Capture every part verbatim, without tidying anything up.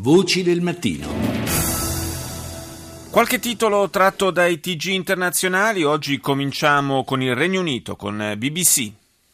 Voci del mattino. Qualche titolo tratto dai T G internazionali. Oggi cominciamo con il Regno Unito, con B B C.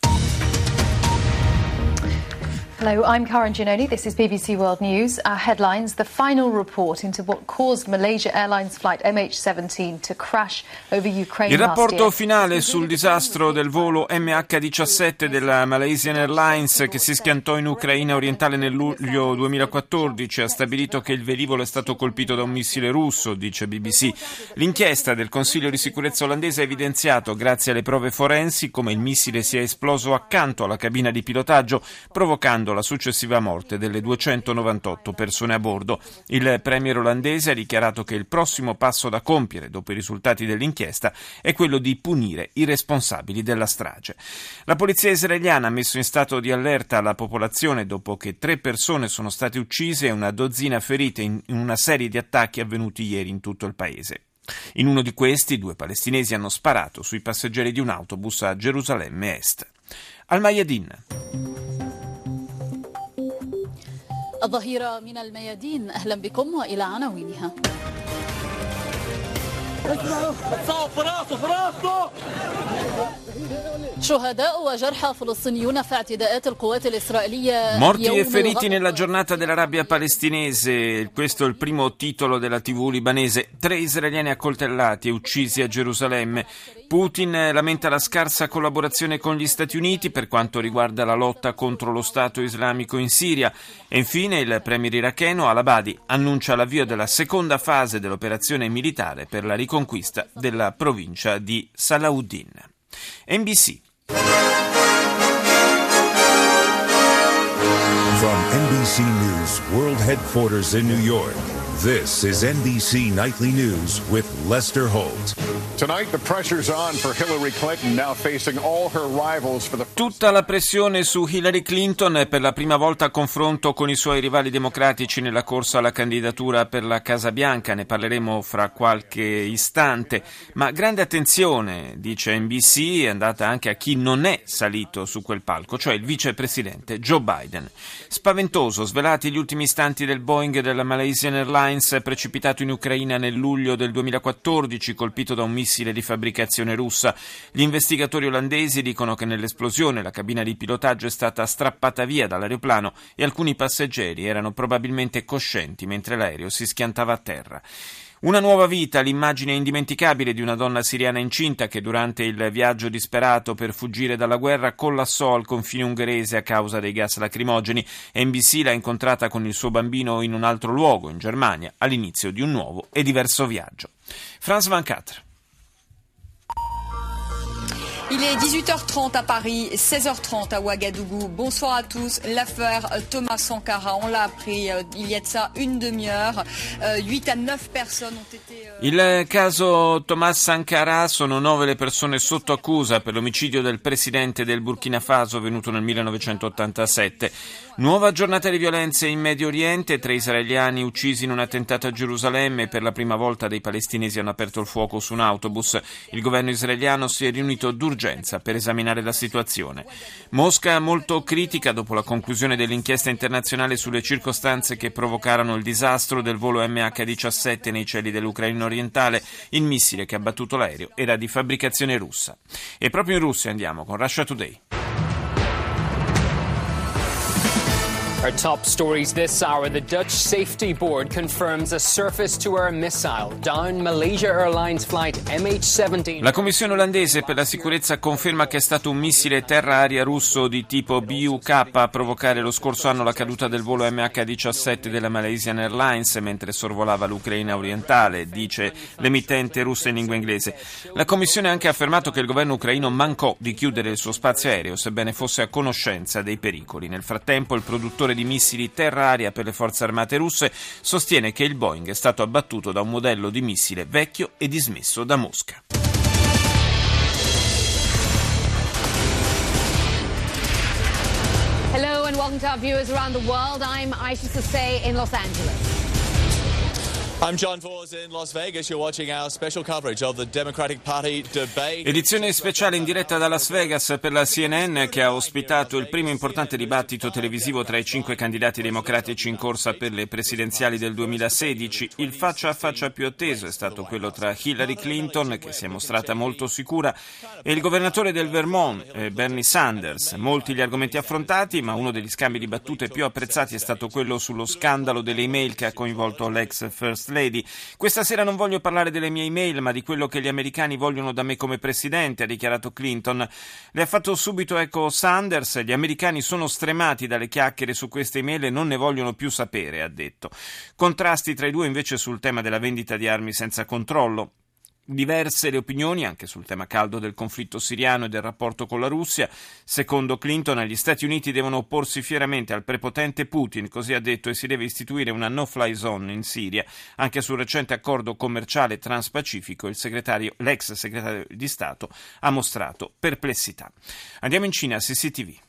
Hello, I'm Karen Giannoni. This is B B C World News. Our headlines: the final report into what caused Malaysia Airlines flight M H seventeen to crash over Ukraine. Il rapporto last year. finale sul disastro del volo M H diciassette della Malaysian Airlines che si schiantò in Ucraina orientale nel luglio duemilaquattordici ha stabilito che il velivolo è stato colpito da un missile russo, dice B B C. L'inchiesta del Consiglio di sicurezza olandese ha evidenziato, grazie alle prove forensi, come il missile sia esploso accanto alla cabina di pilotaggio, provocando la successiva morte delle duecentonovantotto persone a bordo. Il premier olandese ha dichiarato che il prossimo passo da compiere dopo i risultati dell'inchiesta è quello di punire i responsabili della strage. La polizia israeliana ha messo in stato di allerta la popolazione dopo che tre persone sono state uccise e una dozzina ferite in una serie di attacchi avvenuti ieri in tutto il paese. In uno di questi, due palestinesi hanno sparato sui passeggeri di un autobus a Gerusalemme Est. Al Mayadin. الظهيرة من الميادين أهلا بكم وإلى عناوينها. Morti e feriti nella giornata della rabbia palestinese. Questo è il primo titolo della tivù libanese. Tre israeliani accoltellati e uccisi a Gerusalemme. Putin lamenta la scarsa collaborazione con gli Stati Uniti per quanto riguarda la lotta contro lo Stato islamico in Siria. E infine il premier iracheno al-Abadi annuncia l'avvio della seconda fase dell'operazione militare per la riconquista della provincia di Salahuddin. N B C. From N B C News World Headquarters in New York, this is N B C Nightly News with Lester Holt. Tonight the pressure's on for Hillary Clinton, now facing all her rivals for the... Tutta la pressione su Hillary Clinton per la prima volta a confronto con i suoi rivali democratici nella corsa alla candidatura per la Casa Bianca. Ne parleremo fra qualche istante. Ma grande attenzione, dice N B C, è andata anche a chi non è salito su quel palco, cioè il vicepresidente Joe Biden. Spaventoso, svelati gli ultimi istanti del Boeing della Malaysian Airlines precipitato in Ucraina nel luglio del duemilaquattordici, colpito da un missile di fabbricazione russa. Gli investigatori olandesi dicono che nell'esplosione la cabina di pilotaggio è stata strappata via dall'aeroplano e alcuni passeggeri erano probabilmente coscienti mentre l'aereo si schiantava a terra. Una nuova vita, l'immagine indimenticabile di una donna siriana incinta che durante il viaggio disperato per fuggire dalla guerra collassò al confine ungherese a causa dei gas lacrimogeni. N B C l'ha incontrata con il suo bambino in un altro luogo, in Germania, all'inizio di un nuovo e diverso viaggio. France ventiquattro. Il est dix-huit heures trente à Paris, seize heures trente à Ouagadougou. Bonsoir à tous. L'affaire Thomas Sankara, on l'a appris euh, il y a de ça une demi-heure. huit à neuf personnes ont été... Euh... Il caso Thomas Sankara, sono nove le persone sotto accusa per l'omicidio del presidente del Burkina Faso venuto nel millenovecentottantasette. Nuova giornata di violenze in Medio Oriente, tre israeliani uccisi in un attentato a Gerusalemme. Per la prima volta dei palestinesi hanno aperto il fuoco su un autobus. Il governo israeliano si è riunito d'urgenza per esaminare la situazione. Mosca molto critica dopo la conclusione dell'inchiesta internazionale sulle circostanze che provocarono il disastro del volo M H diciassette nei cieli dell'Ucraina orientale. Il missile che ha abbattuto l'aereo era di fabbricazione russa. E proprio in Russia andiamo con Russia Today. Our top stories this hour. The Dutch Safety Board confirms a surface-to-air missile downed Malaysia Airlines flight M H seventeen. La Commissione olandese per la sicurezza conferma che è stato un missile terra-aria russo di tipo B U K a provocare lo scorso anno la caduta del volo M H diciassette della Malaysian Airlines mentre sorvolava l'Ucraina orientale, dice l'emittente russa in lingua inglese. La Commissione ha anche affermato che il governo ucraino mancò di chiudere il suo spazio aereo, sebbene fosse a conoscenza dei pericoli. Nel frattempo il produttore di missili terra-aria per le forze armate russe sostiene che il Boeing è stato abbattuto da un modello di missile vecchio e dismesso da Mosca. Hello and welcome to our viewers around the world. I'm Aisha Sasay in Los Angeles. I'm John Vos in Las Vegas. You're watching our special coverage of the Democratic Party debate. Edizione speciale in diretta da Las Vegas per la C N N, che ha ospitato il primo importante dibattito televisivo tra i cinque candidati democratici in corsa per le presidenziali del duemilasedici. Il faccia a faccia più atteso è stato quello tra Hillary Clinton, che si è mostrata molto sicura, e il governatore del Vermont, eh, Bernie Sanders. Molti gli argomenti affrontati, ma uno degli scambi di battute più apprezzati è stato quello sullo scandalo delle email che ha coinvolto l'ex First Lady. Questa sera non voglio parlare delle mie email, ma di quello che gli americani vogliono da me come presidente, ha dichiarato Clinton. Le ha fatto subito eco Sanders. Gli americani sono stremati dalle chiacchiere su queste email e non ne vogliono più sapere, ha detto. Contrasti tra i due invece sul tema della vendita di armi senza controllo. Diverse le opinioni anche sul tema caldo del conflitto siriano e del rapporto con la Russia. Secondo Clinton, gli Stati Uniti devono opporsi fieramente al prepotente Putin, così ha detto, e si deve istituire una no-fly zone in Siria. Anche sul recente accordo commerciale transpacifico il segretario, l'ex segretario di Stato ha mostrato perplessità. Andiamo in Cina, C C T V.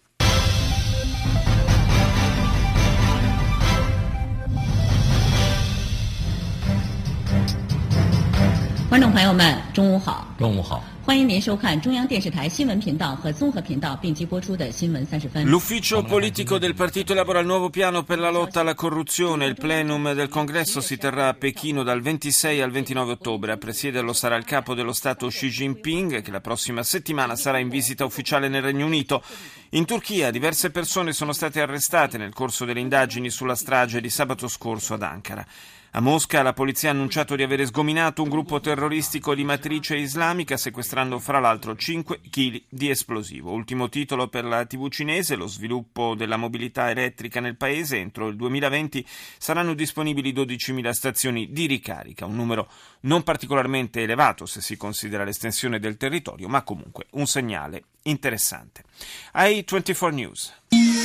观众朋友们，中午好。中午好。欢迎您收看中央电视台新闻频道和综合频道并机播出的新闻三十分。 L'ufficio politico del partito elabora il nuovo piano per la lotta alla corruzione. Il plenum del congresso si terrà a Pechino dal ventisei al ventinove ottobre. A presiederlo sarà il capo dello Stato Xi Jinping, che la prossima settimana sarà in visita ufficiale nel Regno Unito. In Turchia diverse persone sono state arrestate nel corso delle indagini sulla strage di sabato scorso ad Ankara. A Mosca la polizia ha annunciato di aver sgominato un gruppo terroristico di matrice islamica, sequestrando fra l'altro cinque chili di esplosivo. Ultimo titolo per la tivù cinese: lo sviluppo della mobilità elettrica nel paese. Entro il duemilaventi saranno disponibili dodicimila stazioni di ricarica, un numero non particolarmente elevato se si considera l'estensione del territorio, ma comunque un segnale interessante. I ventiquattro News.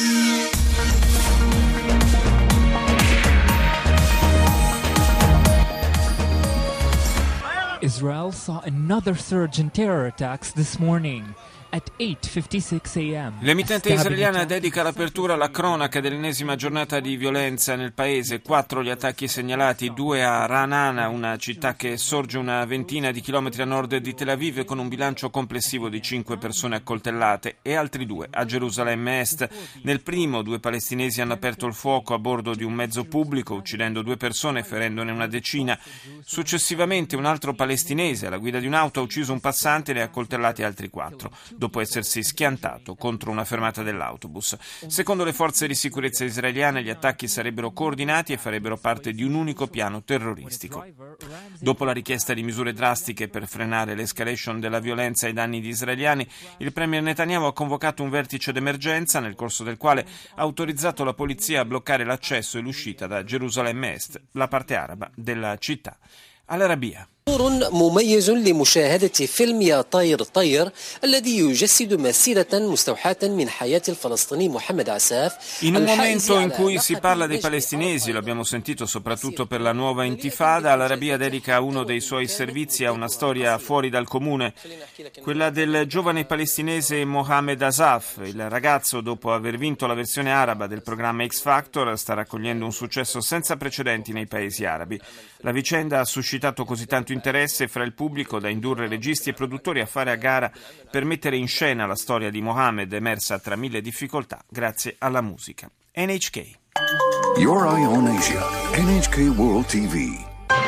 Israel saw another surge in terror attacks this morning. At eight fifty-six a.m. L'emittente israeliana dedica l'apertura alla cronaca dell'ennesima giornata di violenza nel paese. Quattro gli attacchi segnalati, due a Ra'anana, una città che sorge una ventina di chilometri a nord di Tel Aviv, con un bilancio complessivo di cinque persone accoltellate, e altri due a Gerusalemme Est. Nel primo, due palestinesi hanno aperto il fuoco a bordo di un mezzo pubblico, uccidendo due persone e ferendone una decina. Successivamente un altro palestinese alla guida di un'auto ha ucciso un passante e ne ha accoltellati altri quattro, dopo essersi schiantato contro una fermata dell'autobus. Secondo le forze di sicurezza israeliane, gli attacchi sarebbero coordinati e farebbero parte di un unico piano terroristico. Dopo la richiesta di misure drastiche per frenare l'escalation della violenza ai danni di israeliani, il premier Netanyahu ha convocato un vertice d'emergenza, nel corso del quale ha autorizzato la polizia a bloccare l'accesso e l'uscita da Gerusalemme Est, la parte araba della città. Al-Arabiya. دور مميز لمشاهدة فيلم يا طير طير الذي يجسد مسيرة مستوحاة من حياة الفلسطيني محمد عساف. In un momento in cui si parla dei palestinesi, lo abbiamo sentito soprattutto per la nuova intifada, Al-Arabiya dedica uno dei suoi servizi a una storia fuori dal comune, quella del giovane palestinese Mohamed Asaf. Il ragazzo, dopo aver vinto la versione araba del programma X Factor, sta raccogliendo un successo senza precedenti nei paesi arabi. La vicenda ha suscitato così tanto interesse fra il pubblico da indurre registi e produttori a fare a gara per mettere in scena la storia di Mohamed, emersa tra mille difficoltà grazie alla musica. N H K. Your Eye on Asia. N H K World T V.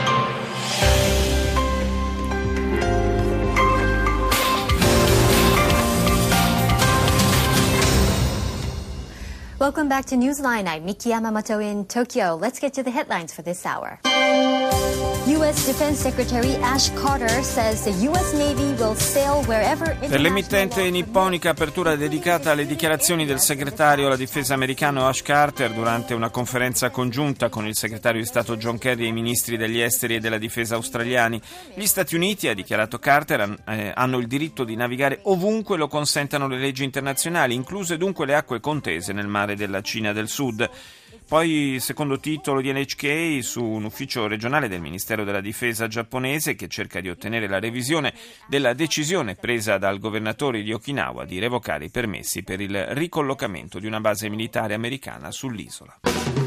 Welcome back to Newsline. I'm Miki Yamamoto in Tokyo. Let's get to the headlines for this hour. U S Defense Secretary Ash Carter says the U S Navy will sail wherever. Per l'emittente nipponica, apertura dedicata alle dichiarazioni del segretario alla difesa americano Ash Carter durante una conferenza congiunta con il segretario di Stato John Kerry e i ministri degli esteri e della difesa australiani. Gli Stati Uniti, ha dichiarato Carter, eh, hanno il diritto di navigare ovunque lo consentano le leggi internazionali, incluse dunque le acque contese nel mare della Cina del Sud. Poi, secondo titolo di N H K, su un ufficio regionale del Ministero della Difesa giapponese che cerca di ottenere la revisione della decisione presa dal governatore di Okinawa di revocare i permessi per il ricollocamento di una base militare americana sull'isola.